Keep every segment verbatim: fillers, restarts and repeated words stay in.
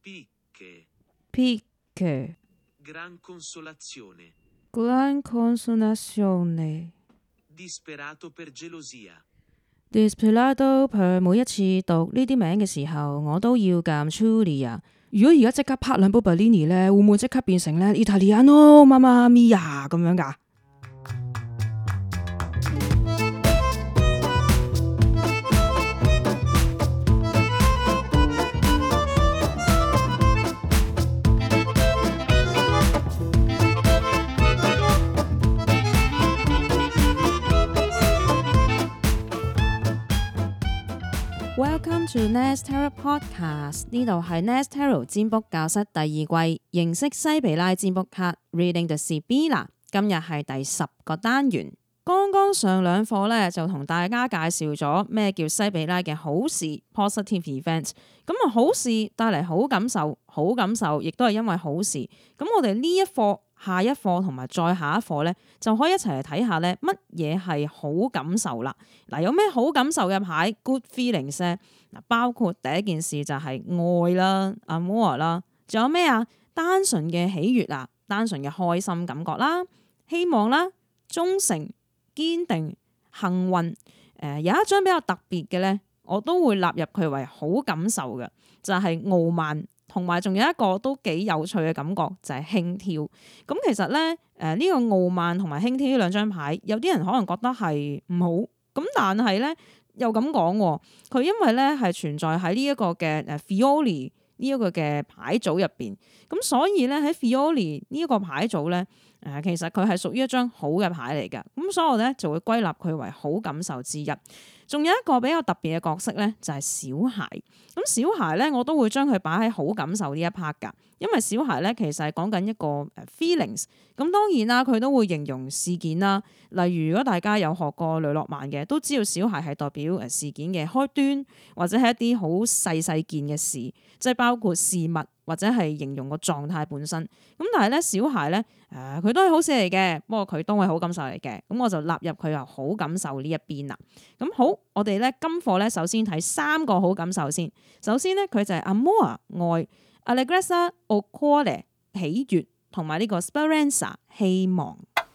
Picche. Picche. Gran consolazione. Gran consolazione. Disperato per gelosia. Disperato per 每一次讀呢啲名嘅時候，我都要撳 Julia。如果而家即刻拍兩部 Bellini 咧，會唔會即刻變成咧 Italiano Mamma Mia 咁樣㗎？Welcome to Nest Tarot Podcast， 呢度係 Nest Tarot 占卜教室第二季，認識西比拉占卜卡 Reading the Sibilla， 今日係第十個單元。剛剛上兩課咧就同大家介紹咗咩叫西比拉嘅好事 positive event， 咁啊好事帶嚟好感受，好感受亦都係因為好事。咁我哋呢一課、下一課同埋再下一課咧，就可以一齊嚟睇下咧乜嘢係好感受啦。嗱，有咩好感受嘅牌 good feelings 咧？嗱，包括第一件事就係愛啦 amor 啦，仲有咩啊？單純嘅喜悅啊，單純嘅開心感覺啦，希望啦，忠誠、堅定、幸運。誒、呃、有一張比較特別嘅咧，我都會納入佢為好感受嘅，就係、是、傲慢。同埋仲有一個都幾有趣嘅感覺，就係、是、輕佻。咁其實咧，誒、呃、呢、這個傲慢同埋輕佻呢兩張牌，有啲人可能覺得係唔好。咁但係咧又咁講，佢因為咧係存在喺呢一個嘅誒 Fiori 呢一個嘅牌組入邊，咁所以咧喺 Fiori 呢一個牌組咧，誒、呃、其實佢係屬於一張好嘅牌嚟嘅。咁所以我咧就會歸納佢為好感受之一。仲有一個比較特別嘅角色咧，就係小孩。咁小孩咧，我都會將佢擺喺好感受呢一 part 㗎，因為小孩咧其實係講緊一個誒 feelings。咁當然啦，佢都會形容事件啦。例如，如果大家有學過雷諾曼嘅，都知道小孩係代表誒事件嘅開端，或者係一啲好細細件嘅事，即係包括事物或者係形容個狀態本身。咁但係咧，小孩咧誒佢都係好事嚟嘅，不過佢都係好感受嚟嘅。咁我就納入佢由好感受呢一邊啦。咁好，我哋咧今課咧首先睇三個好感受先。首先咧佢就係 amor 愛 ，allegrezza o cuore 喜悅，同埋呢個 speranza 希望。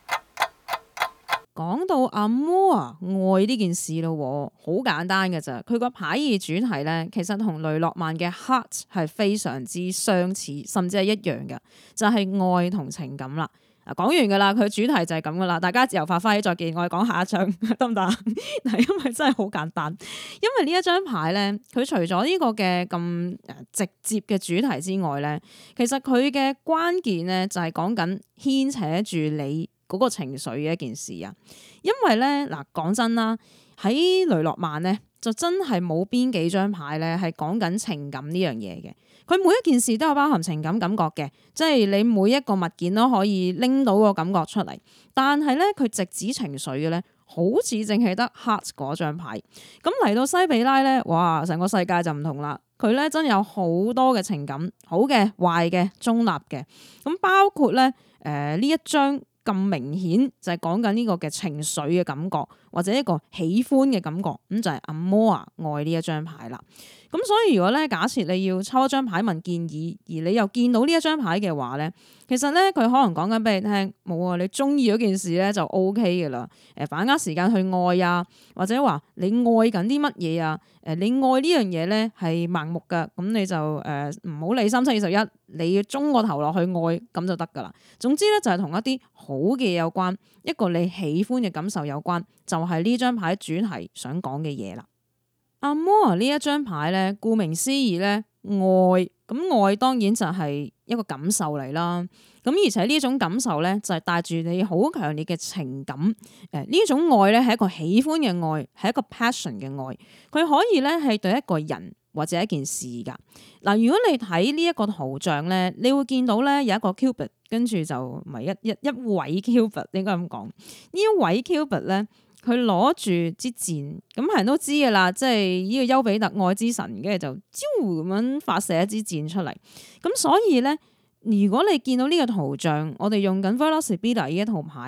講到 amor 愛呢件事咯，好簡單嘅咋。佢個牌意主題咧，其實同雷諾曼嘅 heart 係非常之相似，甚至係一樣嘅，就係、是、愛同情感啦。啊，講完噶啦，佢主題就係咁噶啦，大家自由發揮，再見。我哋講下一張得唔得？嗱，因為真係好簡單，因為呢一張牌咧，佢除咗呢個嘅咁直接嘅主題之外咧，其實佢嘅關鍵咧就係講緊牽扯住你嗰個情緒嘅一件事啊。因為咧嗱，講真啦，喺雷諾曼咧就真係冇邊幾張牌咧係講緊情感呢樣嘢嘅。佢每一件事都有包含情感感覺嘅，即係你每一個物件都可以拎到個感覺出嚟。但係咧，佢直指情緒嘅咧，好似淨係得 heart 嗰張牌。咁嚟到西比拉咧，哇！成個世界就唔同啦。佢咧真有好多嘅情感，好嘅、壞嘅、中立嘅。咁包括咧，誒呢一張咁明顯就係講緊呢個嘅情緒嘅感覺，或者一個喜歡嘅感覺，咁就係 amor 愛呢一張牌啦。咁所以如果咧，假設你要抽一張牌問建議，而你又見到呢一張牌嘅話咧，其實咧佢可能講緊俾你聽，冇啊，你中意嗰件事咧就 O K 嘅啦。誒，把握時間去愛啊，或者話你愛緊啲乜嘢啊？誒，你愛呢樣嘢咧係盲目噶，咁你就誒唔好理三七二十一，你要中個頭落去愛咁就得噶啦。總之咧就係同一啲好嘅嘢有關，一個你喜歡嘅感受有關，就係呢張牌主題想講嘅嘢啦。amor 呢一張牌咧，顧名思義咧，愛，咁愛當然就係一個感受嚟啦。咁而且呢種感受咧，就係帶住你好強烈嘅情感。誒呢種愛咧係一個喜歡嘅愛，係一個 passion 嘅愛。佢可以咧係對一個人或者一件事噶。嗱，如果你睇呢一個圖像咧，你會見到咧有一個 cupid，跟住就唔係一一一位 cupid 應該咁講。呢一位 cupid 咧。佢攞住支箭，咁係人都知噶啦，即係呢個丘比特愛之神，跟住就招咁樣發射一支箭出嚟。咁所以咧，如果你見到呢個圖像，我哋用緊 Veloci Bida 呢一套牌，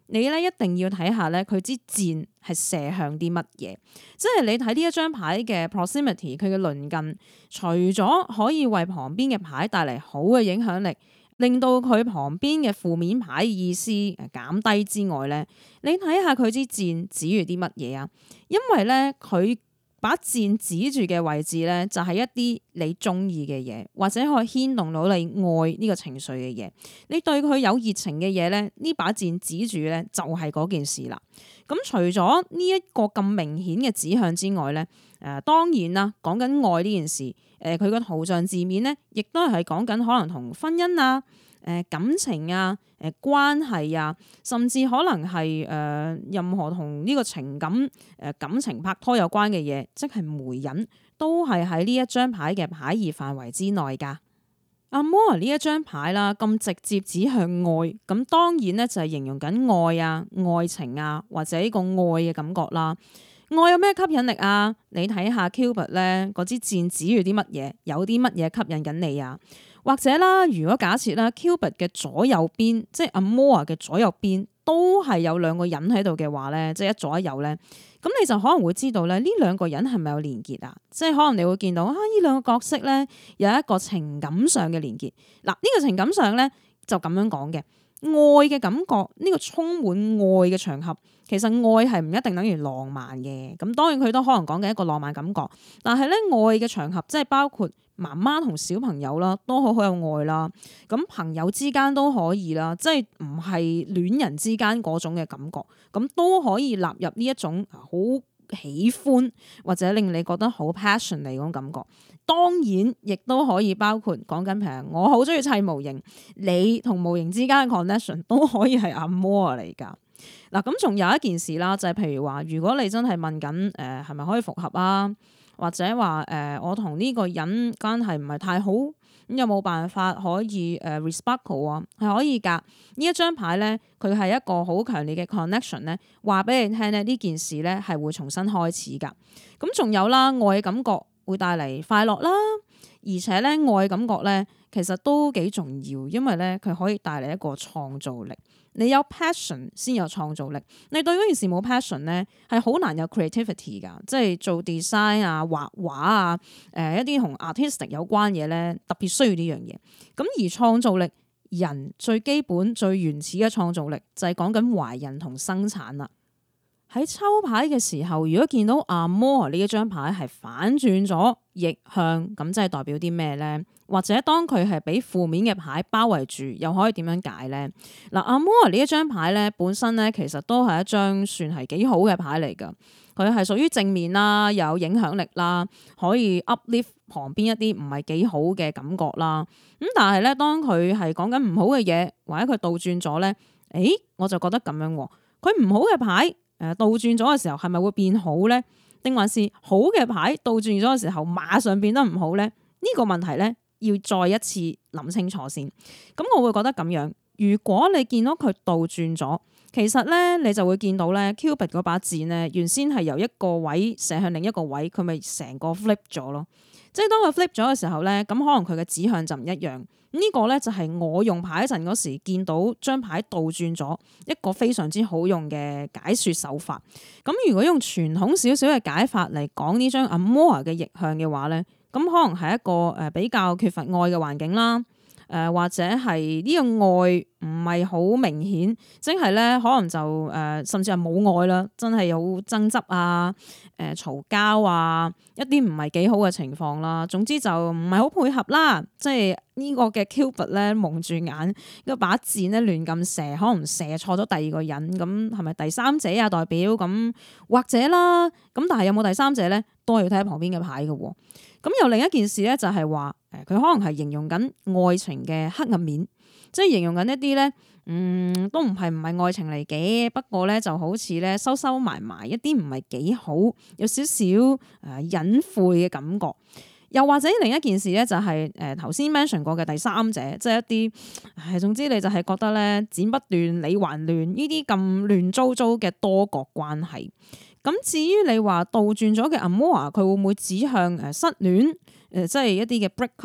你咧一定要睇下咧佢支箭係射向啲乜嘢，即係你睇呢一張牌嘅 proximity， 佢嘅鄰近，除咗可以為旁邊嘅牌帶嚟好嘅影響力，令到佢旁邊嘅負面牌意思誒減低之外咧，你睇下佢支箭指住啲乜嘢啊？因為咧佢把箭指住嘅位置咧，就係一啲你中意嘅嘢，或者可以牽動到你愛呢個情緒嘅嘢。你對佢有熱情嘅嘢咧，呢把箭指住咧就係嗰件事啦。咁除咗呢一個咁明顯嘅指向之外咧，誒、呃、當然啦，講緊愛呢件事，誒佢個圖像字面咧，亦都係講緊可能同婚姻啊、誒、呃、感情啊、誒、呃、關係啊，甚至可能係誒、呃、任何同呢個情感誒、呃、感情拍拖有關嘅嘢，即係媒人，都係喺呢一張牌嘅牌意範圍之內㗎。阿摩呢一張牌啦，咁直接指向愛，咁當然咧就係形容緊愛啊、愛情啊，或者呢個愛嘅感覺啦。愛有咩吸引力啊？你睇下 Cupid 咧，嗰支箭指住啲乜嘢？有啲乜嘢吸引緊你啊？或者啦，如果假設啦 Cupid 嘅左右邊，即係阿摩嘅左右邊，都係有兩個人喺度嘅話咧，即係一左一右咧。咁你就可能會知道咧，呢兩個人係咪有連結啊？即係可能你會見到啊，呢兩個角色咧有一個情感上嘅連結。嗱，呢個情感上咧就咁樣講嘅，愛嘅感覺，呢個充滿愛嘅場合，其實愛係唔一定等於浪漫嘅。咁當然佢都可能講緊一個浪漫感覺，但係咧愛嘅場合即係包括媽媽同小朋友啦，都好好有愛啦。咁朋友之間都可以啦，即係唔係戀人之間嗰種嘅感覺，咁都可以納入呢一種好喜歡或者令你覺得好 passion 嚟嗰種感覺。當然亦都可以包括講緊譬如我好中意砌模型，你同模型之間嘅 connection 都可以係 amour 嚟㗎。嗱，咁仲有一件事啦，就係、是、譬如話，如果你真係問緊誒係咪可以復合啊？或者話誒、呃，我同呢個人關係唔係太好，咁有冇辦法可以誒 reciprocal 啊？係可以㗎。呢一張牌咧，佢係一個好強烈嘅 connection 咧，話俾你聽咧，呢件事咧係會重新開始㗎。咁仲有啦，愛嘅感覺會帶嚟快樂啦，而且咧愛嘅感覺咧其實都幾重要，因為咧佢可以帶嚟一個創造力。你有 passion 先有創造力，你對嗰件事冇 passion 咧，係好難有 creativity 噶，即係做 design 啊、畫畫啊、誒、呃、一啲同 artistic 有關嘢咧，特別需要呢樣嘢。咁而創造力，人最基本最原始嘅創造力就係講緊懷孕同生產啦。喺抽牌嘅時候，如果見到 Amour 呢一張牌係反轉咗逆向，咁即係代表啲咩咧？或者當佢係俾負面嘅牌包圍住，又可以點樣解咧？嗱，Amour呢一張牌咧，本身咧其實都係一張算係幾好嘅牌嚟㗎。佢係屬於正面啦，有影響力啦，可以 uplift 旁邊一啲唔係幾好嘅感覺啦。咁但係咧，當佢係講緊唔好嘅嘢，或者佢倒轉咗咧，誒我就覺得咁樣喎。佢唔好嘅牌。誒倒轉咗嘅時候係咪會變好咧？定還是好嘅牌倒轉咗嘅時候馬上變得唔好咧？呢個問題咧要再一次諗清楚先。咁我會覺得咁樣，如果你見到佢倒轉咗，其實咧你就會見到咧 Cupid 嗰把箭咧原先係由一個位射向另一個位，佢咪成個 flip 咗咯。即係當佢 flip 咗嘅時候咧，咁可能佢嘅指向就唔一樣。呢個咧就係我用牌陣嗰時見到張牌倒轉咗一個非常之好用嘅解說手法。咁如果用傳統少少嘅解法嚟講呢張 Amour 嘅逆向嘅話咧，咁可能係一個誒比較缺乏愛嘅環境啦。誒、呃、或者係呢個愛唔係好明顯，即係咧可能就誒、呃、甚至係冇愛啦，真係有爭執啊、誒嘈交啊，一啲唔係幾好嘅情況啦。總之就唔係好配合啦，即係呢個嘅 Cupid 咧蒙住眼，一把箭咧亂咁射，可能射錯咗第二個人，咁係咪第三者啊？代表咁或者啦，咁但係有冇第三者咧，都係要睇下旁邊嘅牌嘅喎。咁又另一件事咧，就係話誒，佢可能係形容緊愛情嘅黑暗面，即係形容緊一啲咧，嗯，都唔係唔係愛情嚟嘅，不過咧就好似咧收收埋埋一啲唔係幾好，有少少誒隱晦嘅感覺。又或者另一件事咧，就係誒頭先 mention 過嘅第三者，即係一啲，唉，總之你就係覺得咧剪不斷理還亂呢啲咁亂糟糟嘅多角關係。咁至於你話倒轉咗嘅 Amour，佢會唔會指向誒失戀誒，即係一啲嘅 break up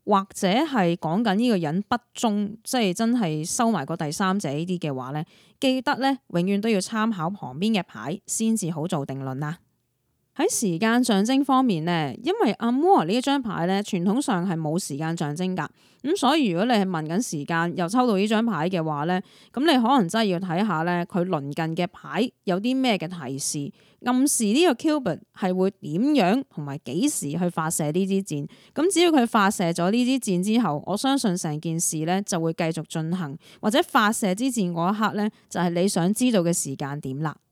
或者係講緊呢個人不忠，即係真係收埋個第三者呢啲嘅話咧，記得咧永遠都要參考旁邊嘅牌先至好做定論啦。喺時間象徵方面咧，因為 Amour 呢一張牌咧，傳統上係冇時間象徵噶，咁所以如果你係問緊時間又抽到呢張牌嘅話咧，咁你可能真係要睇下咧佢鄰近嘅牌有啲咩嘅提示，暗示呢個 Cupid 係會點樣同埋幾時去發射呢支箭。咁只要佢發射咗呢支箭之後，我相信成件事咧就會繼續進行，或者發射支箭嗰一刻咧就係你想知道嘅時間點啦。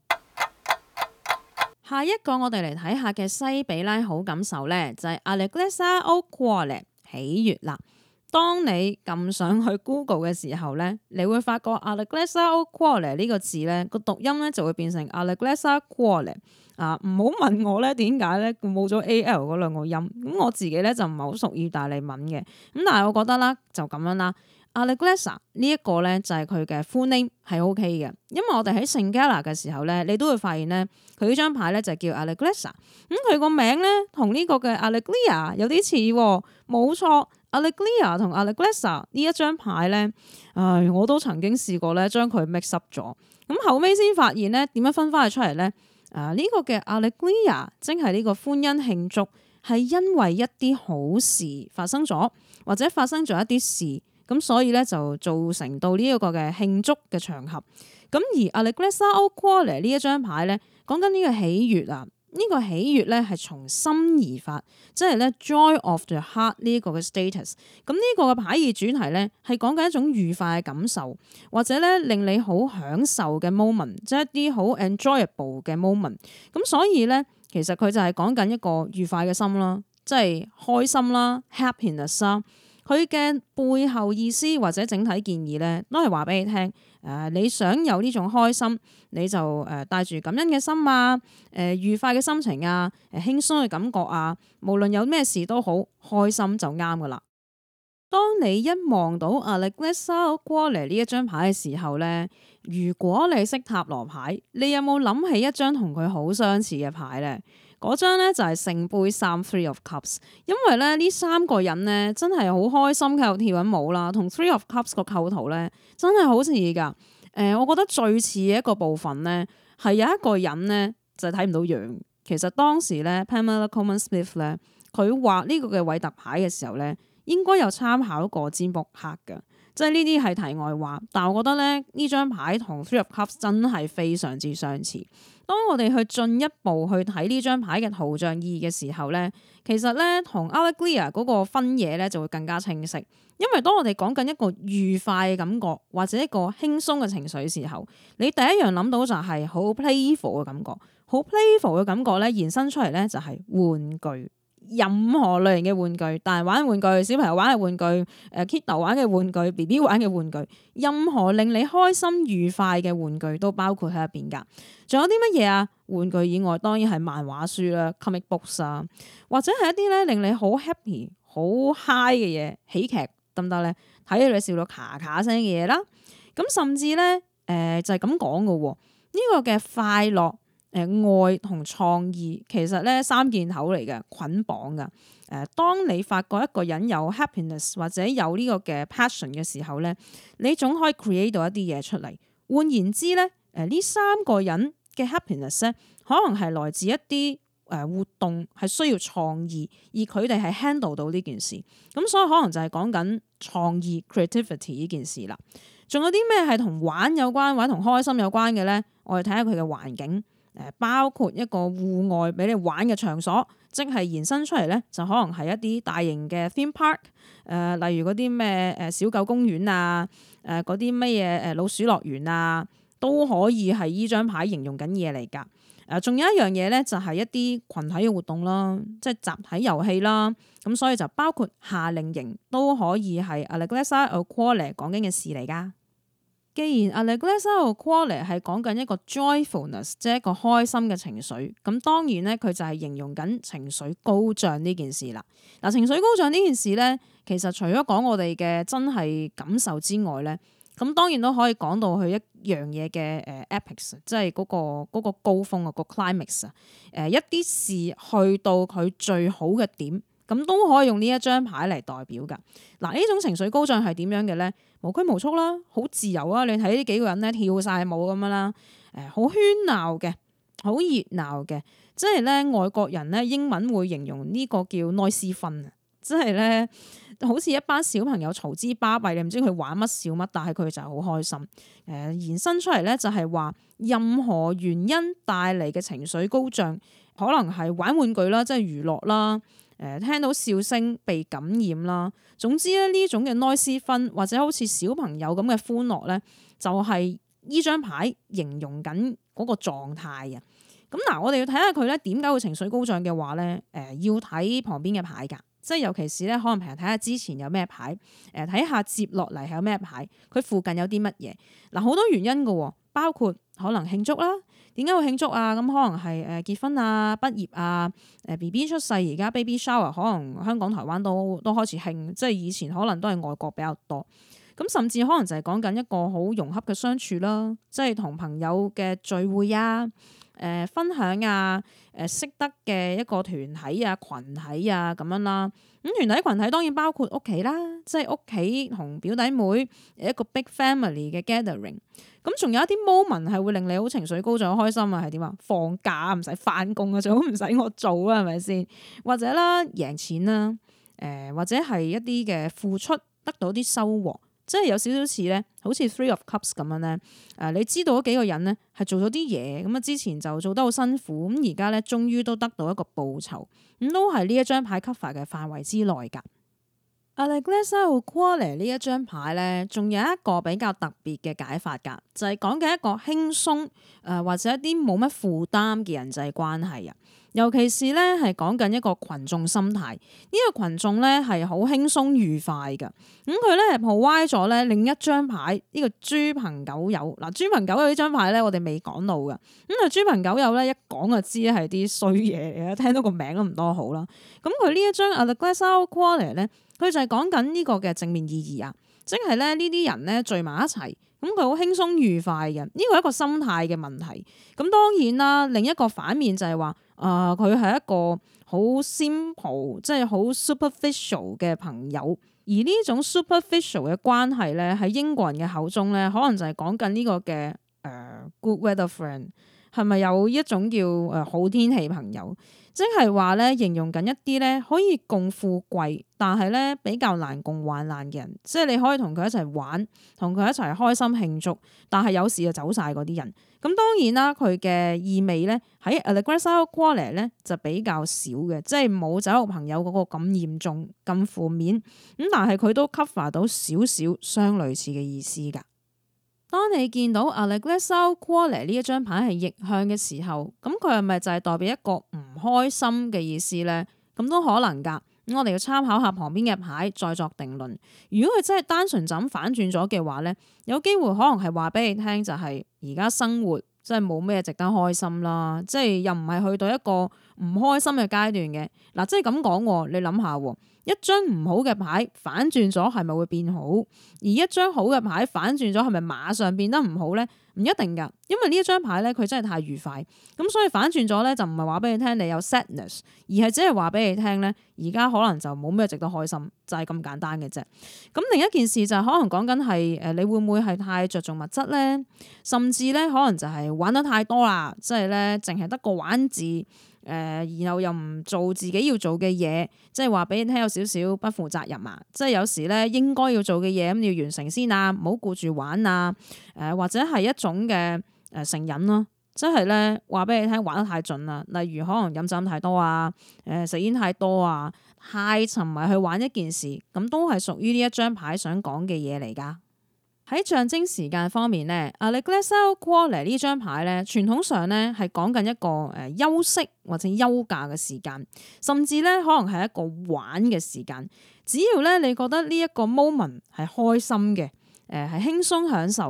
下一個我哋嚟睇下嘅西比拉好感受咧，就係 Allegrezza o Cuore 喜悅啦。當你撳上去 Google 嘅時候咧，你會發覺 Allegrezza o Cuore 呢個字咧個讀音咧就會變成 Allegrezza Cuore 啊！唔好問我咧點解咧冇咗 A L 嗰兩個音，咁我自己咧就唔係好熟意大利文嘅，咁但係我覺得啦就咁樣啦。Allegrezza 呢一個咧就係佢嘅 full name 係 OK 嘅，因為我哋喺聖加拿嘅時候咧，你都會發現咧佢呢張牌咧就叫 Allegrezza，咁佢個名咧同呢個嘅 Allegria 有啲似，冇錯。Allegria 同 Allegrezza 呢一張牌咧，唉，我都曾經試過咧將佢 mix up 咗，咁後尾先發現咧點樣分翻佢出嚟咧？啊，呢個嘅 Allegria 即係呢個歡欣慶祝，係因為一啲好事發生咗，或者發生咗一啲事。咁所以咧就造成到呢一個嘅慶祝嘅場合。咁而 Allegrezza o Cuore 呢一張牌咧，講緊呢個喜悅啊，呢、這個喜悅咧係從心而發，即係咧 joy of the heart 呢一個嘅 status。咁呢個嘅牌意主題咧係講緊一種愉快嘅感受，或者咧令你好享受嘅 moment，即係一啲好 enjoyable 嘅 moment。咁所以咧其實佢就係講緊一個愉快嘅心啦，即係開心啦 ，happiness 啦。佢嘅背後意思或者整體建議咧，都係話俾你聽。誒、呃，你想有呢種開心，你就誒帶住感恩嘅心啊，誒、呃、愉快嘅心情啊，誒、呃、輕鬆嘅感覺啊，無論有咩事都好，開心就啱噶啦。當你一望到 Allegrezza o Cuore 呢一張牌嘅時候咧，如果你識塔羅牌，你有冇諗起一張同佢好相似嘅牌咧？嗰張咧就係聖杯三 Three of Cups，因為咧呢三個人咧真係好開心喺度跳緊舞啦，同 Three of Cups 個構圖咧真係好似㗎。誒、呃，我覺得最似嘅一個部分咧係有一個人咧就係睇唔到樣。其實當時咧 Pamela Coleman Smith 咧佢畫呢個嘅韋特牌嘅時候咧，應該有參考過占卜克㗎。即係呢啲係題外話，但係我覺得咧呢張牌同 Three of Cups 真係非常之相似。當我哋去進一步去睇呢張牌嘅圖像意義嘅時候咧，其實咧同 Allegria 嗰個分野咧就會更加清晰。因為當我哋講緊一個愉快嘅感覺或者一個輕鬆嘅情緒嘅時候，你第一樣諗到就係好 playful 嘅感覺，好 playful 嘅感覺咧延伸出嚟咧就係玩具。任何類型嘅玩具，大人玩嘅玩具，小朋友玩嘅玩具，誒 Kiddo 玩嘅玩具 B B 玩嘅玩具，任何令你開心愉快嘅玩具都包括喺入邊㗎。仲有啲乜嘢啊？玩具以外，當然係漫畫書啦 comic books 啊，或者係一啲咧令你好 happy、好 high 嘅嘢，喜劇得唔得咧？睇到你笑到咔咔聲嘅嘢啦。咁甚至咧，誒、呃、就係咁講嘅喎。呢、這個嘅快樂。誒愛同創意其實咧三件頭嚟嘅，捆綁㗎。誒，當你發覺一個人有 happiness 或者有呢個嘅 passion 嘅時候咧，你總可以 create 到一啲嘢出嚟。換言之咧，誒呢三個人嘅 happiness 咧，可能係來自一啲誒活動係需要創意，而佢哋係 handle 到呢件事。咁所以可能就係講緊創意 creativity 呢件事啦。仲有啲咩係同玩有關或者同開心有關嘅咧？我哋睇下佢嘅環境。誒包括一個戶外俾你玩嘅場所，即係延伸出嚟咧，就可能係一啲大型嘅 theme park，誒、呃、例如嗰啲咩誒小狗公園啊，誒嗰啲乜嘢誒老鼠樂園啊，都可以係依張牌形容緊嘢嚟㗎。誒、呃、仲有一樣嘢咧，就係一啲群體嘅活動啦，即係集體遊戲啦。咁所以就包括夏令營都可以係 Allegrezza o Cuore 講緊嘅事嚟㗎。既然 Allegrezza o Cuore 係講緊一個 joyfulness，即係一個開心嘅情緒，咁當然咧佢就係形容緊情緒高漲呢件事啦。嗱，情緒高漲呢件事咧，其實除咗講我哋嘅真係感受之外咧，咁當然都可以講到佢一樣嘢嘅誒 epics，即係嗰個嗰個高峰啊，個 climax 啊，誒一啲事去到佢最好嘅點， 咁都可以用呢一張牌嚟代表㗎。嗱，呢種情緒高漲係點樣嘅咧？無拘無束啦，好自由啊！你睇呢幾個人咧跳晒舞咁樣啦，誒好喧鬧嘅，好熱鬧嘅，即係咧外國人咧英文會形容呢個叫 noisy fun 啊，即係咧好似一班小朋友嘈之巴閉，你唔知佢玩乜笑乜，但係佢就係好開心。誒延伸出嚟咧就係話任何原因帶嚟嘅情緒高漲，可能係玩玩具啦，即係娛樂啦。誒聽到笑聲被感染啦，總之咧呢種嘅 noisy fun 或者好似小朋友咁嘅歡樂咧，就係呢張牌形容緊嗰個狀態啊。咁嗱，我哋要睇下佢咧點解會情緒高漲嘅話咧，誒要睇旁邊嘅牌㗎，即係尤其是咧可能平日睇下之前有咩牌，誒睇下接落嚟係有咩牌，佢附近有啲乜嘢。嗱，好多原因㗎，包括可能慶祝啦。點解會慶祝啊？咁可能係誒結婚啊、畢業啊、誒 B B 出世，而家 baby shower 可能香港、台灣都都開始興，即係以前可能都係外國比較多。咁甚至可能就係講緊一個好融洽嘅相處啦，即係同朋友嘅聚會啊、誒、呃、分享啊、誒識得嘅一個團體啊、群體啊咁樣啦。咁團體群體當然包括屋企啦，即係屋企同表弟妹一個 big family 嘅 gathering。咁仲有一啲 moment 係會令你好情緒高漲、開心啊，係點啊？放假唔使返工啊，最好唔使我做啊，係咪先？或者啦，贏錢啦，誒、呃、或者係一啲嘅付出得到啲收穫，即係有少少似咧，好似 Three of Cups 咁樣咧。誒、呃，你知道嗰幾個人咧係做咗啲嘢，咁啊之前就做得好辛苦，咁而家咧終於都得到一個報酬，咁都係呢一張牌 cover 嘅範圍之內㗎。Alleglessa au cuore 呢一張牌咧，仲有一個比較特別嘅解法㗎，就係講嘅一個輕鬆誒或者一啲冇乜負擔嘅人際關係啊。尤其是咧係講緊一個群眾心態，呢、這個群眾咧係好輕鬆愉快㗎。咁佢咧係 provide 咗咧另一張牌呢、這個豬朋狗友。嗱，豬朋狗友呢張牌咧我哋未講到㗎。咁啊豬朋狗友咧一講就知係啲衰嘢嚟嘅，聽到個名都唔多好啦。咁佢呢一張 Alleglessa au cuore咧，佢就係講緊呢個嘅正面意義啊，即係咧呢啲人咧聚埋一齊，咁佢好輕鬆愉快嘅，呢個係一個心態嘅問題。咁當然啦，另一個反面就係話，啊佢係一個好 simple，即係好 superficial 嘅朋友。而呢種 superficial 嘅關係咧，喺英國人嘅口中咧，可能就係講緊呢個嘅誒、呃、good weather friend，係咪有一種叫誒好天氣朋友？即係話咧，形容緊一啲咧可以共富貴，但係咧比較難共患難嘅人。即係你可以同佢一齊玩，同佢一齊開心慶祝，但係有時就走晒嗰啲人。咁當然啦，佢嘅意味咧喺 Alleglessa au cuore 咧就比較少嘅，即係冇酒肉朋友嗰個咁嚴重、咁負面。咁但係佢都 cover 到少少相類似嘅意思㗎。當你見到 Alleglessa au cuore 呢一張牌係逆向嘅時候，咁佢係咪就係代表一個唔開心嘅意思咧？咁都可能㗎。咁我哋要參考下旁邊嘅牌再作定論。如果佢真係單純就咁反轉咗嘅話咧，有機會可能係話俾你聽就係而家生活真係冇咩值得開心啦，即係又唔係去到一個唔開心嘅階段嘅。嗱，即係咁講，你諗下。一張唔好嘅牌反轉咗係咪會變好？而一張好嘅牌反轉咗係咪馬上變得唔好咧？唔一定噶，因為呢一張牌咧佢真係太愉快，咁所以反轉咗咧就唔係話俾你聽你有 sadness， 而係只係話俾你聽咧而家可能就冇咩值得開心，就係咁簡單嘅啫。咁另一件事就係可能講緊係誒你會唔會係太着重物質咧？甚至咧可能就係玩得太多啦，即係咧淨係得個玩字。誒、呃，然後又唔做自己要做嘅嘢，即係話俾你聽有少少不負責任啊！即係有時咧應該要做嘅嘢咁要完成先啊，唔好顧住玩啊！誒、呃，或者係一種嘅誒成癮咯，即係咧話俾你聽玩得太盡啦，例如可能飲酒太多啊，誒、呃、食煙太多啊，太沉迷去玩一件事，咁都係屬於呢一張牌想講嘅嘢嚟噶。喺象徵時間方面咧，Alleglessa au cuore呢張牌咧，傳統上咧係講緊一個誒休息或者休假嘅時間，甚至咧可能係一個玩嘅時間。只要咧你覺得呢一個 moment 係開心嘅，誒係輕鬆享受嘅，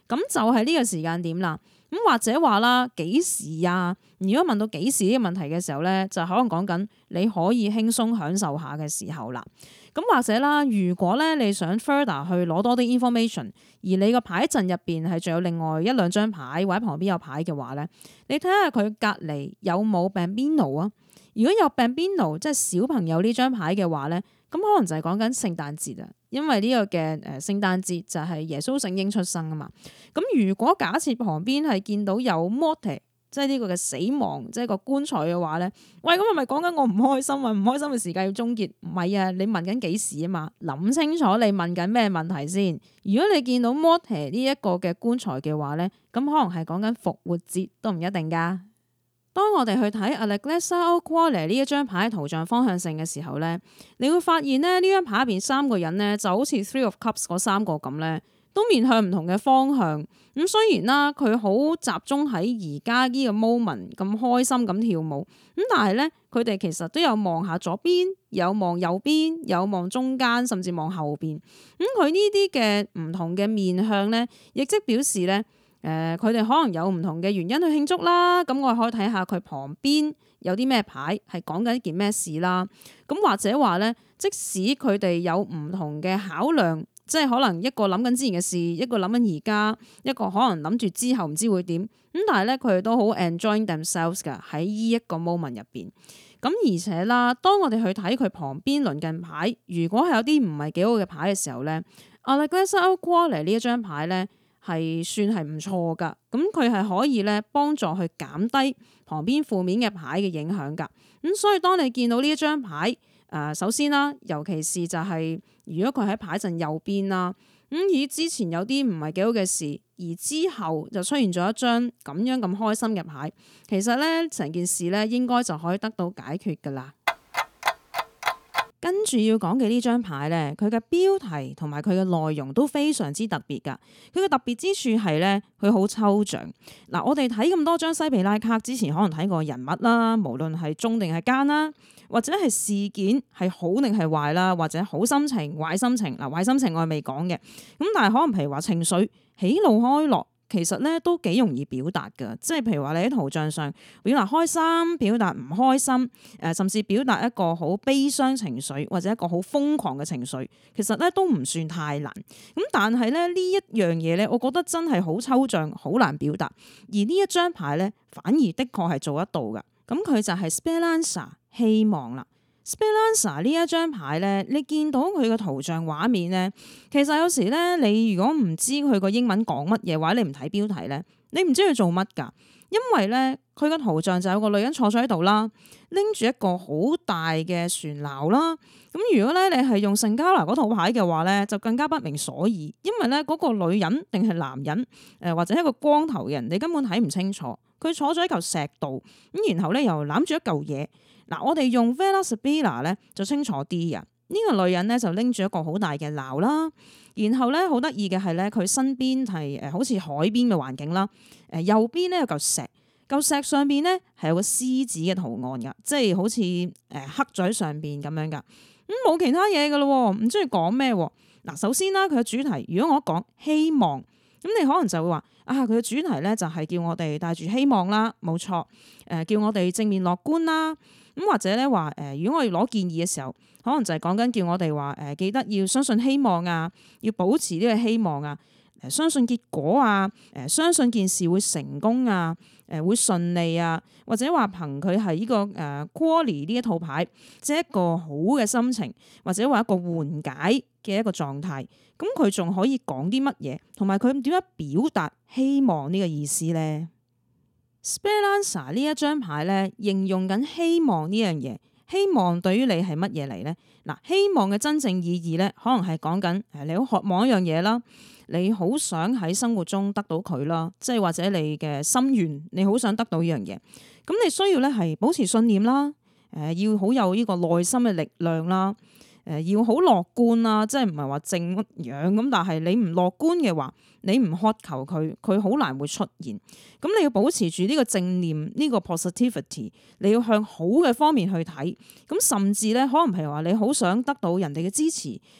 咁就係呢個時間點啦。咁或者話啦，幾時啊？如果問到幾時呢個問題嘅時候咧，就可能講緊你可以輕鬆享受下嘅時候啦。咁或者啦，如果咧你想 further 去攞多啲 information，而你個牌陣入邊係仲有另外一兩張牌或者旁邊有牌嘅話咧，你睇下佢隔離有冇 Bambino 啊？如果有 Bambino，即係小朋友呢張牌嘅話咧，咁可能就係講緊聖誕節啊，因為呢個嘅誒聖誕節就係耶穌聖嬰出生啊嘛。咁如果假設旁邊係見到有 morte，即係呢個嘅死亡，即係個棺材嘅話咧，喂，咁係咪講緊我唔開心啊？唔開心嘅時間要終結？唔係啊，你問緊幾時啊嘛？諗清楚你問緊咩問題先。如果你見到 morte 呢一個嘅棺材嘅話咧，咁可能係講緊復活節都唔一定噶。當我哋去睇 Alleglessa o Cuore 呢一張牌圖像方向性嘅時候咧，你會發現咧呢張牌入邊三個人咧就好似 Three of Cups 嗰三個咁咧，都面向唔同嘅方向。咁雖然啦，佢好集中喺而家呢個 moment 咁開心咁跳舞，咁但係咧佢哋其實都有望下左邊，有望右邊，有望中間，甚至望後邊。咁佢呢啲嘅唔同嘅面向咧，亦即表示咧。誒，佢哋、呃、可能有唔同嘅原因去慶祝啦，咁我可以睇下佢旁邊有啲咩牌係講緊一件咩事啦。咁或者話咧，即使佢哋有唔同嘅考量，即係可能一個諗緊之前嘅事，一個諗緊而家，一個可能諗住之後唔知會點。咁但係咧，佢哋都好 enjoy themselves 噶喺呢一個 moment 入邊。咁而且啦，當我哋去睇佢旁邊鄰近牌，如果係有啲唔係幾好嘅牌嘅時候咧，Alleglessa o Cuore 呢一張牌咧。係算係唔錯噶，咁佢係可以咧幫助去減低旁邊負面嘅牌嘅影響噶。咁所以當你見到呢一張牌，誒、呃，首先啦，尤其是就係、是、如果佢喺牌陣右邊啦，咁而之前有啲唔係幾好嘅事，而之後就出現咗一張咁樣咁開心嘅牌，其實咧成件事咧應該就可以得到解決噶啦。跟住要講嘅呢張牌咧，佢嘅標題同埋佢嘅內容都非常之特別噶。佢嘅特別之處係咧，佢好抽象。嗱，我哋睇咁多張西比拉卡之前，可能睇過人物啦，無論係忠定係奸啦，或者係事件係好定係壞啦，或者好心情、壞心情。嗱，壞心情我係未講嘅，咁但係可能譬如話情緒喜怒哀樂。其實咧都幾容易表達㗎，即係譬如話你喺圖像上表達開心、表達唔開心，誒甚至表達一個好悲傷情緒或者一個好瘋狂嘅情緒，其實咧都唔算太難。咁但係咧呢一樣嘢咧，我覺得真係好抽象、好難表達。而呢一張牌咧，反而的確係做得到㗎。咁佢就係 Speranza 希望啦。Speranza 呢一張牌咧，你見到佢個圖像畫面咧，其實有時咧，你如果唔知佢個英文講乜嘢，或者你唔睇標題咧，你唔知佢做乜㗎。因為咧，佢個圖像就有個女人坐咗喺度啦，拎住一個好大嘅船錨啦。咁如果咧你係用聖加拿嗰套牌嘅話咧，就更加不明所以，因為咧嗰個女人定係男人，誒或者一個光頭人，你根本睇唔清楚。佢坐咗喺嚿石度，咁然後咧又攬住一嚿嘢。嗱，我哋用 Vela Sibilla 咧就清楚啲啊！呢、這個女人咧就拎住一個好大嘅錨啦，然後咧好得意嘅係咧，佢身邊係誒好似海邊嘅環境啦，誒右邊咧有嚿石，嚿石上邊咧係有個獅子嘅圖案噶，即係好似誒刻咗喺上邊咁樣噶，咁、嗯、冇其他嘢噶咯，唔知佢講咩？嗱，首先啦，佢嘅主題，如果我講希望，咁你可能就會話啊，佢嘅主題咧就係叫我哋帶住希望啦，冇錯，誒叫我哋正面樂觀啦。咁或者咧話誒，如果我要攞建議嘅時候，可能就係講緊叫我哋話誒，記得要相信希望啊，要保持呢個希望啊，誒相信結果啊，誒相信件事會成功啊，誒會順利啊，或者話憑佢係呢個誒 Cuore 呢一套牌，即係一個好嘅心情，或者話一個緩解嘅一個狀態，咁佢仲可以講啲乜嘢，同埋佢點樣表達希望呢個意思咧？Speranza 呢一張牌咧，形容緊希望呢樣嘢。希望對於你係乜嘢嚟咧？嗱，希望嘅真正意義咧，可能係講緊誒，你好渴望一樣嘢啦，你好想喺生活中得到佢啦，即係或者你嘅心願，你好想得到呢樣嘢。咁你需要咧係保持信念啦，誒，要好有呢個內心嘅力量啦。誒要好樂觀啦，即係唔係話正樣咁，但係你唔樂觀嘅話，你唔渴求佢，佢好難會出現。咁你要保持住呢個正念，呢個 positivity，你要向好嘅方面去睇。咁甚至咧，可能譬如話你好想得到人哋嘅支持，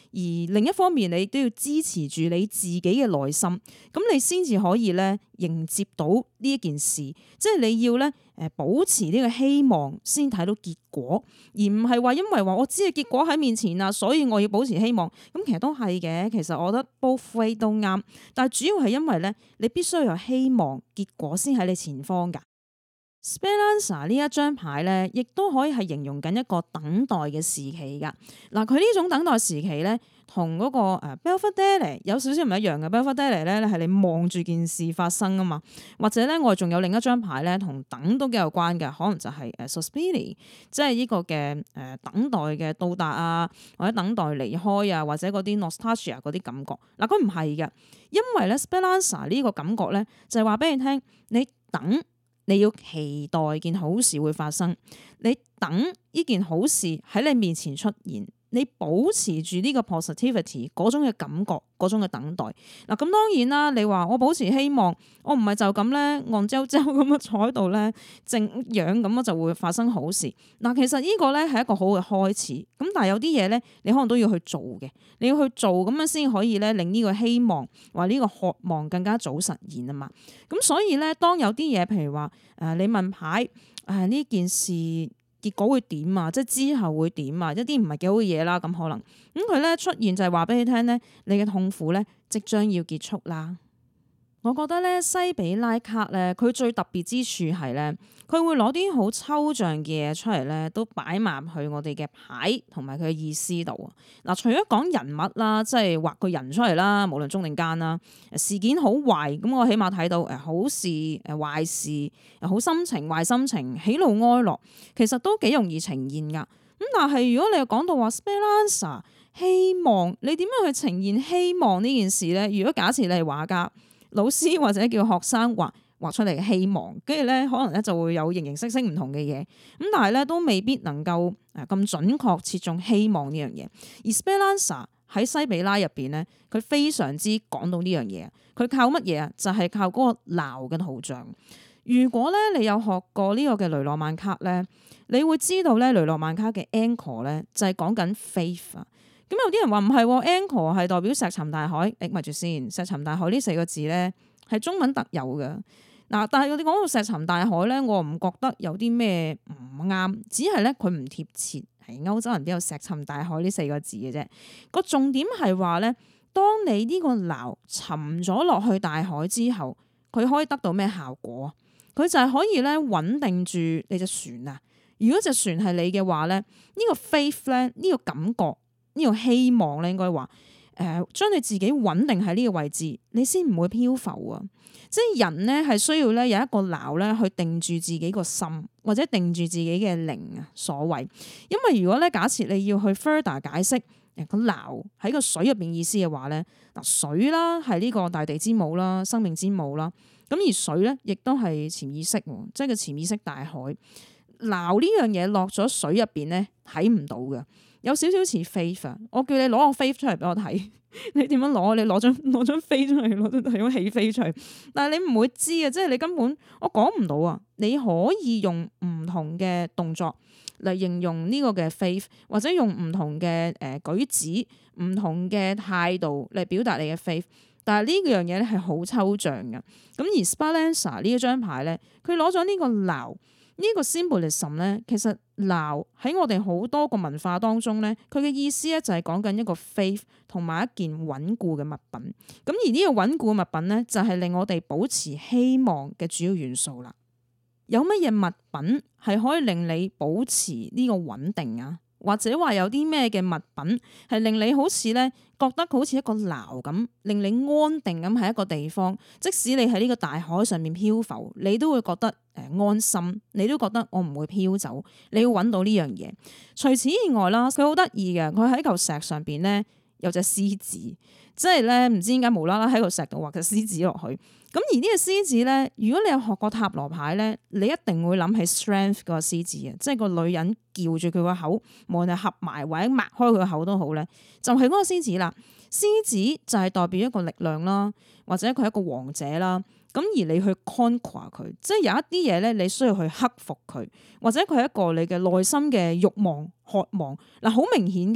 而另一方面你都要支持住你自己嘅內心，咁你先至可以咧迎接到呢一件事，即係你要咧誒保持呢個希望先睇到結果，而唔係話因為話我知嘅結果喺面前啦，所以我要保持希望。咁其實都係嘅，其實我覺得 both way 都啱，但係主要係因為咧你必須有希望，結果先喺你前方㗎。Speranza 呢一張牌咧，亦都可以係形容緊一個等待嘅時期噶。嗱，佢呢種等待時期咧，同嗰個誒 Belvedere 有少少唔一樣嘅。Belvedere 咧係你望住件事發生啊嘛，或者咧我哋仲有另一張牌咧，同等都幾有關嘅，可能就係誒 Sospiri，即係呢個嘅誒等待嘅到達啊，或者等待離開啊，或者嗰啲 nostalgia 嗰啲感覺。嗱，佢唔係嘅，因為咧 Speranza 呢個感覺咧就係話俾你聽，你等。你要期待件好事會發生，你等呢件好事喺你面前出現，你保持住呢個 positivity 嗰種嘅感覺，嗰種嘅等待。嗱，咁當然啦，你話我保持希望，我唔係就咁咧，戇周周咁樣坐喺度咧，靜養咁樣就會發生好事。嗱，其實呢個咧係一個好嘅開始，咁但係有啲嘢咧，你可能都要去做嘅，你要去做咁樣先可以咧令呢個希望或呢個渴望更加早實現啊嘛。咁所以咧，當有啲嘢，譬如話誒，你問牌誒呢件事。結果會點啊？即係之後會點啊？一啲唔係幾好嘅嘢啦，咁可能咁佢咧出現就係話俾你聽咧，你嘅痛苦咧即將要結束啦。我覺得咧西比拉卡咧，佢最特別之處係咧，佢會攞啲好抽象嘅嘢出嚟咧，都擺埋去我哋嘅牌同埋佢嘅意思度。嗱，除咗講人物啦，即係畫個人出嚟啦，無論中定奸啦，事件好壞，咁我起碼睇到誒好事誒壞事，好心情壞心情，喜怒哀樂，其實都幾容易呈現噶。咁但係如果你又講到話 Speranza 希望，你點樣去呈現希望呢件事咧？如果假設你係畫家。老師或者叫學生畫畫出嚟嘅希望，跟住咧可能咧就會有形形色色唔同嘅嘢，咁但係咧都未必能夠誒咁準確切中希望呢樣嘢。而 Speranza 喺西比拉入邊咧，佢非常之講到呢樣嘢，佢靠乜嘢啊？就係、是、靠嗰個錨嘅圖像。如果咧你有學過呢個嘅雷諾曼卡咧，你會知道咧雷諾曼卡嘅 anchor 咧就係講緊 faith 啊。咁有啲人話唔係 anchor 係代表石沉大海，誒咪住先，石沉大海呢四個字咧係中文特有嘅。嗱，但係我哋講到石沉大海咧，我唔覺得有啲咩唔啱，只係咧佢唔貼切，係歐洲人邊有石沉大海呢四個字嘅啫。個重點係話咧，當你呢個錨沉咗落去大海之後，佢可以得到咩效果？佢就係可以咧穩定住你隻船啊！如果隻船係你嘅話咧，呢、呢個 faith 咧，呢個感覺。呢個希望咧，應該話誒，將你自己穩定喺呢個位置，你先唔會漂浮啊！即係人咧係需要咧有一個錨咧去定住自己個心，或者定住自己嘅靈啊，所謂。因為如果咧假設你要去 further 解釋誒個錨喺個水入邊意思嘅話咧，嗱水啦係呢個大地之母啦，生命之母啦。咁而水咧亦都係潛意識，即係個潛意識大海。錨呢樣嘢落咗水入邊咧睇唔到嘅。有少少似 faith， 我叫你攞個 faith 出嚟俾我睇，你點樣攞？你攞張攞張飛出嚟，攞張係咁起飛出嚟，但係你唔會知啊！即係你根本我講唔到啊！你可以用唔同嘅動作嚟形容呢個嘅 faith，或者用唔同嘅誒舉止、唔同嘅態度嚟表達你嘅 faith，但係呢樣嘢咧係好抽象嘅。咁而 Speranza 呢一張牌咧，佢攞咗呢個錨。呢個 symbolism 咧，其實錨喺我哋好多個文化當中咧，佢嘅意思咧就係講緊一個 faith 同埋一件穩固嘅物品。咁而呢個穩固嘅物品咧，就係令我哋保持希望嘅主要元素啦。有乜嘢物品係可以令你保持呢個穩定啊？或者話有啲咩嘅物品係令你好似咧覺得好似一個錨咁，令你安定咁喺一個地方，即使你喺呢個大海上面漂浮，你都會覺得誒安心，你都覺得我唔會漂走。你要揾到呢樣嘢。除此以外啦，佢好得意嘅，佢喺嚿石上邊咧有隻獅子，即係咧唔知點解無啦啦喺個石度畫隻獅子落去。咁而呢個獅子咧，如果你有學過塔羅牌咧，你一定會諗起 strength 個獅子嘅，即係個女人叫住佢個口，無論係合埋或者擘開佢個口都好咧，就係嗰個獅子啦。獅子就係代表一個力量啦，或者佢係一個王者啦。咁而你去 conquer 佢，即係有一啲嘢咧，你需要去克服佢，或者佢係一個你嘅內心嘅慾望、渴望。嗱，好明顯噶，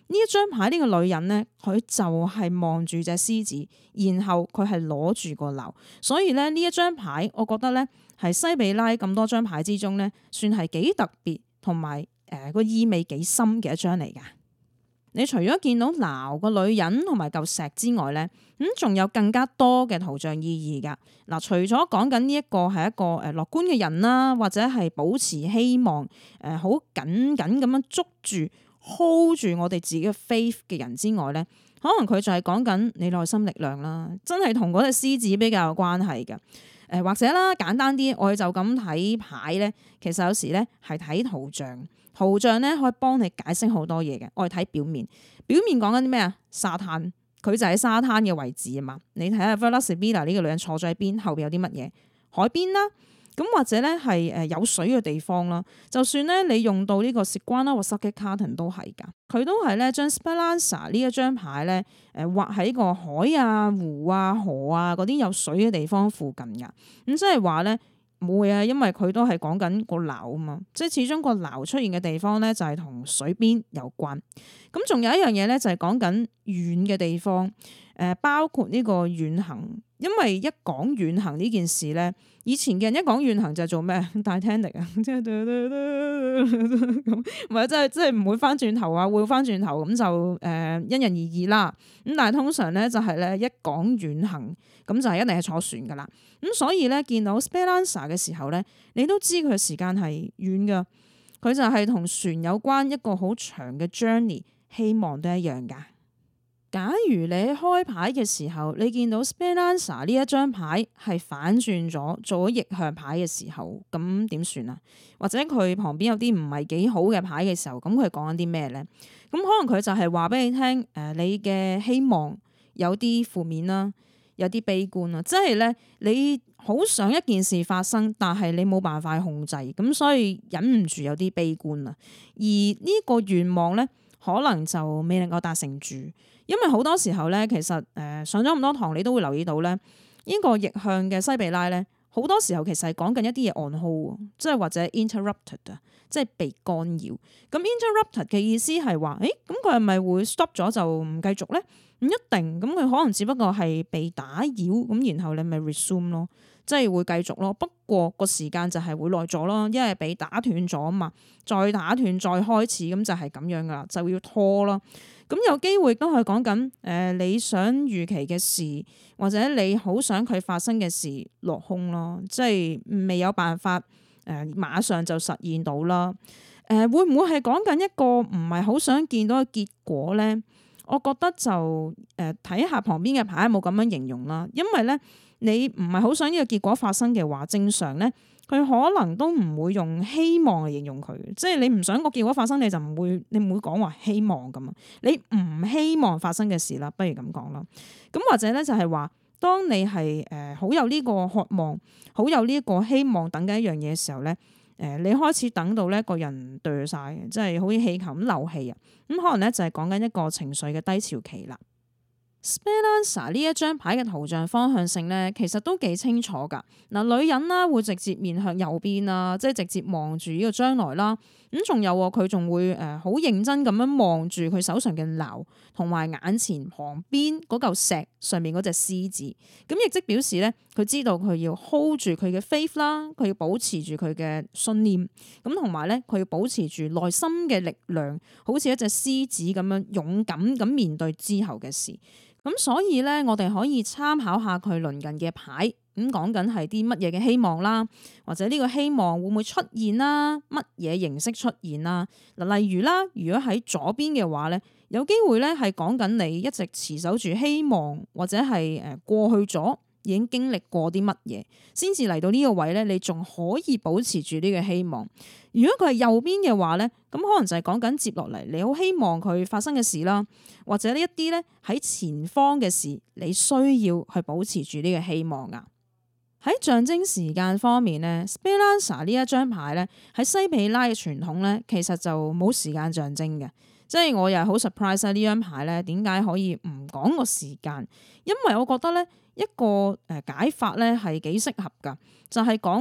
呢一張牌呢個女人咧，佢就係望住隻獅子，然後佢係攞住個矛，所以咧呢一張牌，我覺得咧係西比拉咁多張牌之中咧，算係幾特別同埋誒個意味幾深嘅一張嚟㗎。你除咗見到鬧個女人同埋嚿石之外咧，咁仲有更加多嘅圖像意義噶。嗱，除咗講緊呢一個係一個誒樂觀嘅人啦，或者係保持希望誒好緊緊咁樣捉住 hold 住我哋自己嘅 faith 嘅人之外咧，可能佢就係講緊你內心力量啦，真係同嗰隻獅子比較有關係嘅。誒或者啦，簡單啲，我哋就咁睇牌咧，其實有時咧係睇圖像。圖像咧可以幫你解釋好多嘢嘅，我哋睇表面，表面講緊啲咩啊？沙灘，佢就喺沙灘嘅位置啊嘛。你睇下 Villa Sibilla 呢個女人坐咗喺邊，後邊有啲乜嘢？海邊啦，咁或者咧係誒有水嘅地方啦。就算咧你用到呢個 Siguana 或 Subject Carton 都係㗎，佢都係咧將 Speranza 呢一張牌咧誒畫喺個海啊、湖啊、河啊嗰啲有水嘅地方附近㗎。咁即係話咧。冇啊，因為佢都係講緊個樓啊嘛，即係始終個樓出現嘅地方咧就係同水邊有關。咁仲有一樣嘢咧就係講緊遠嘅地方，誒包括呢個遠行，因為一講遠行呢件事咧，以前嘅人一講遠行就係做咩？Titanic 啊，即係咁，唔係即係即係唔會翻轉頭啊，會翻轉頭咁就誒、呃、因人而異啦。咁但係通常咧就係咧一講遠行，咁就係一定係坐船噶啦。咁所以咧見到 Speranza 嘅時候咧，你都知佢嘅時間係遠噶，佢就係同船有關一個好長嘅 journey， 希望都一樣噶。假如你開牌嘅時候，你見到 Speranza 呢一張牌係反轉咗做咗逆向牌嘅時候，咁點算啊？或者佢旁邊有啲唔係幾好嘅牌嘅時候，咁佢講緊啲咩咧？咁可能佢就係話俾你聽，誒，你嘅希望有啲負面啦。有啲悲觀啦，即係咧，你好想一件事發生，但係你冇辦法控制，咁所以忍唔住有啲悲觀啦。而呢個願望咧，可能就未能夠達成住，因為好多時候咧，其實誒、呃、上咗咁多堂，你都會留意到咧，呢、這個逆向嘅西比拉咧，好多時候其實係講緊一啲嘢 on hold，即係或者 interrupted 啊，即係被干擾。咁 interrupted 嘅意思係話，誒咁佢係咪會 stop 咗就唔繼續咧？唔一定，咁佢可能只不過係被打擾，咁然後你咪 resume 咯，即係會繼續咯。不過個時間就係會耐咗咯，因為被打斷咗啊嘛，再打斷再開始，咁就係咁樣噶啦，就要拖咯。咁有機會都係講緊誒你想預期嘅事，或者你好想佢發生嘅事落空咯，即係未有辦法誒、呃、馬上就實現到啦。誒、呃、會唔會係講緊一個唔係好想見到嘅結果咧？我覺得就誒睇下旁邊嘅牌有冇咁樣形容啦，因為咧你唔係好想呢個結果發生嘅話，正常咧佢可能都唔會用希望嚟形容佢，即係你唔想個結果發生，你就唔會你唔會講話希望咁啊，你唔希望發生嘅事啦，不如咁講啦。咁或者咧就係話，當你係誒好有呢個渴望，好有呢個希望等緊一樣嘢嘅時候咧。誒，你開始等到咧個人墮晒，即係好似氣球咁漏氣啊！咁可能咧就係講緊一個情緒嘅低潮期啦。Speranza 呢一張牌嘅圖像方向性咧，其實都幾清楚噶。嗱，女人啦會直接面向右邊啦，即係直接望住呢個將來啦。咁仲有佢仲會誒好認真咁樣望住佢手上嘅矛，同埋眼前旁邊嗰嚿石上面嗰隻獅子。咁亦即表示咧，佢知道佢要 hold 住佢嘅 faith 啦，佢要保持住佢嘅信念。咁同埋咧，佢要保持住內心嘅力量，好似一隻獅子咁樣勇敢咁面對之後嘅事。咁所以咧，我哋可以參考下佢鄰近嘅牌，咁講緊係啲乜嘢嘅希望啦，或者呢個希望會唔會出現啦？乜嘢形式出現啦？嗱，例如啦，如果喺左邊嘅話咧，有機會咧係講緊你一直持守住希望，或者係誒過去咗已經經歷過啲乜嘢，先至嚟到呢個位咧，你仲可以保持住呢個希望。如果佢係右邊嘅話咧，咁可能就係講緊接落嚟，你好希望佢發生嘅事啦，或者呢一啲咧喺前方嘅事，你需要去保持住呢個希望啊。喺象徵時間方面咧 Speranza 呢一張牌咧喺西比拉嘅傳統咧，其實就冇時間象徵嘅，即係我又係好 surprise 呢張牌咧，點解可以唔講個時間？因為我覺得咧一個誒解法咧係幾適合噶，就係講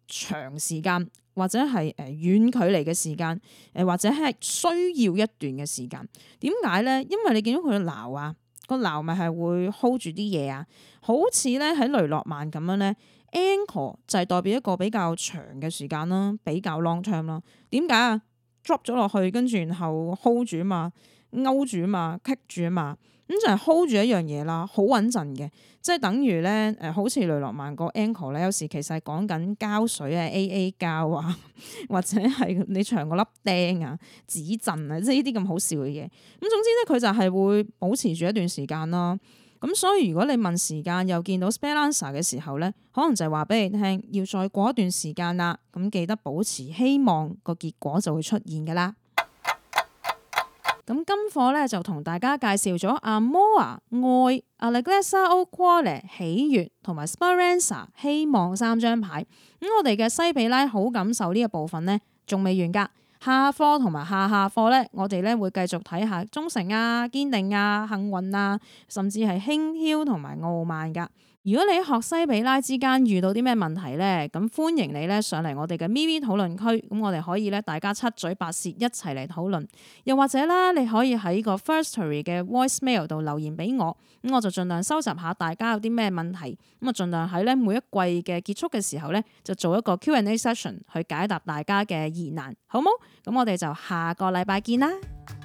長時間或者係誒遠距離嘅時間，誒或者係需要一段嘅時間。點解咧？因為你見到佢嘅錨啊，個錨咪係會 hold 住啲嘢啊，好似咧喺雷諾曼咁樣咧。Anchor 就係代表一個比較長嘅時間啦，比較 long term 啦。點解啊？drop 咗落去，跟住然後 hold 住啊嘛，勾住啊嘛，kick 住啊嘛，咁就係 hold 住一樣嘢啦，好穩陣嘅。即係等於咧誒，好似雷諾曼個 anchor 咧，有時其實係講緊膠水啊、A A 膠啊，或者係你長個粒釘啊、指震啊，即係呢啲咁好笑嘅嘢。咁總之咧，佢就係會保持住一段時間啦。咁所以如果你問時間又見到 spare answer 嘅時候咧，可能就係話俾你聽，要再過一段時間啦。咁記得保持希望，個結果就會出現㗎啦。咁今課咧就同大家介紹咗 Amore 愛、Allegrezza o Cuore 喜悅同埋 Speranza 希望三張牌。咁我哋嘅西比拉好感受呢一部分咧仲未完㗎。下課同埋下下課咧，我哋咧會繼續睇下忠誠啊、堅定啊、幸運啊，甚至係輕佻同埋傲慢噶。如果你喺學西比拉之間遇到啲咩問題咧，咁歡迎你咧上嚟我哋嘅咪咪討論區，咁我哋可以咧大家七嘴八舌一齊嚟討論。又或者啦，你可以喺個 Firstory 嘅 voicemail 度留言俾我，咁我就盡量收集下大家有啲咩問題，咁啊盡量喺咧每一季嘅結束嘅時候咧，就做一個 Q and A session 去解答大家嘅疑難，好冇？咁我哋就下個禮拜見啦。